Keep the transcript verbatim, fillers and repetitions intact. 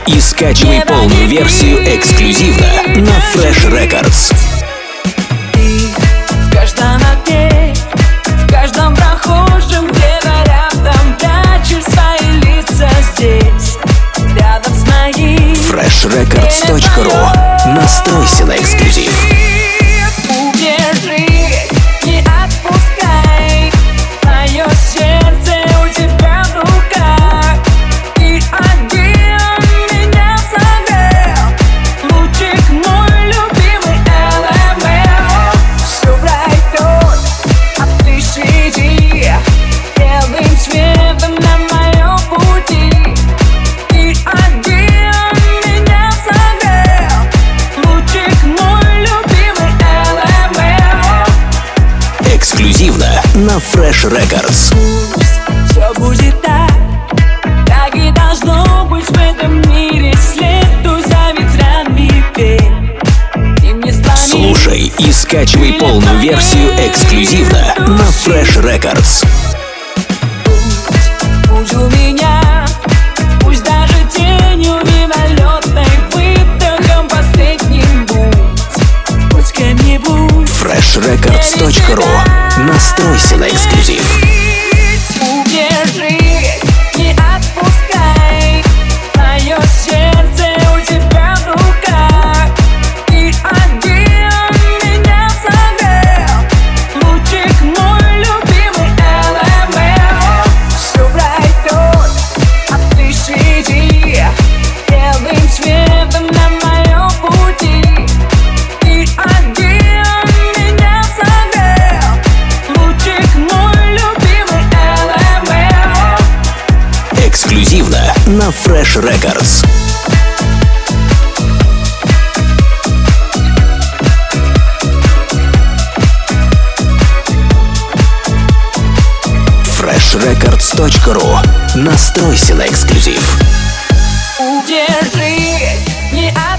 и скачивай полную версию эксклюзивно на Fresh Records. В каждом окне, в каждом прохожем, где-то рядом прячешь свои лица здесь, рядом с моим. фреш рекордс точка ру. Настройся на эксклюзив. Удержи, не отпускай, мое сердце у тебя в руках. И один меня согрел, лучик мой любимый эл эм эл. Все пройдет, а ты сиди белым цветом на моем пути. И один меня согрел, лучик мой любимый эл эм эл. Эксклюзивно на Fresh Records. Пусть все будет так, как и должно быть в этом мире. Следуй за ветрами, пей, ты мне звони. Слушай и скачивай полную версию эксклюзивно на Fresh Records. Пусть у меня, пусть даже тенью мимолетной, выдохом последним будь, хоть кем-нибудь. фреш рекордс точка ру. Настройся на эксклюзив. Удержи, не отпускай, мое сердце у тебя в руках. И один меня согрел, лучик мой любимый эл эм эл. Все пройдет, а ты сиди белым цветом на моем пути. И один меня согрел, лучик мой любимый эл эм эл. Эксклюзивно на Fresh Records. фреш рекордс точка ру. Настройся на эксклюзив. Удержи, не отпускай.